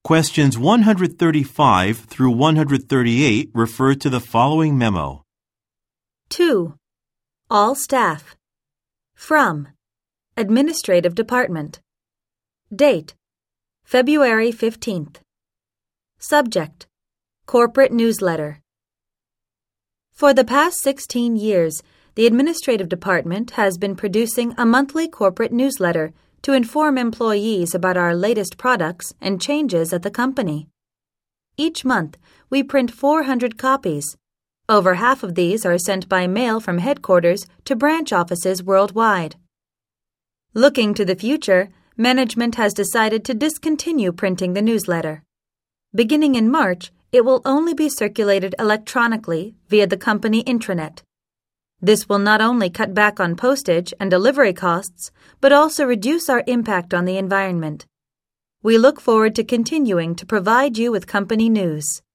Questions 135 through 138 refer to the following memo. 2. All staff. From Administrative Department. Date February 15th. Subject Corporate Newsletter. For the past 16 years, the Administrative Department has been producing a monthly corporate newsletter to inform employees about our latest products and changes at the company. Each month, we print 400 copies. Over half of these are sent by mail from headquarters to branch offices worldwide. Looking to the future, management has decided to discontinue printing the newsletter. Beginning in March, it will only be circulated electronically via the company intranet. This will not only cut back on postage and delivery costs, but also reduce our impact on the environment. We look forward to continuing to provide you with company news.